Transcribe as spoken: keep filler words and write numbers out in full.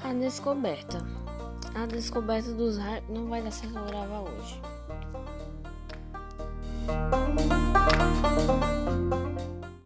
A descoberta. A descoberta dos raios. Não vai dar certo eu gravar hoje.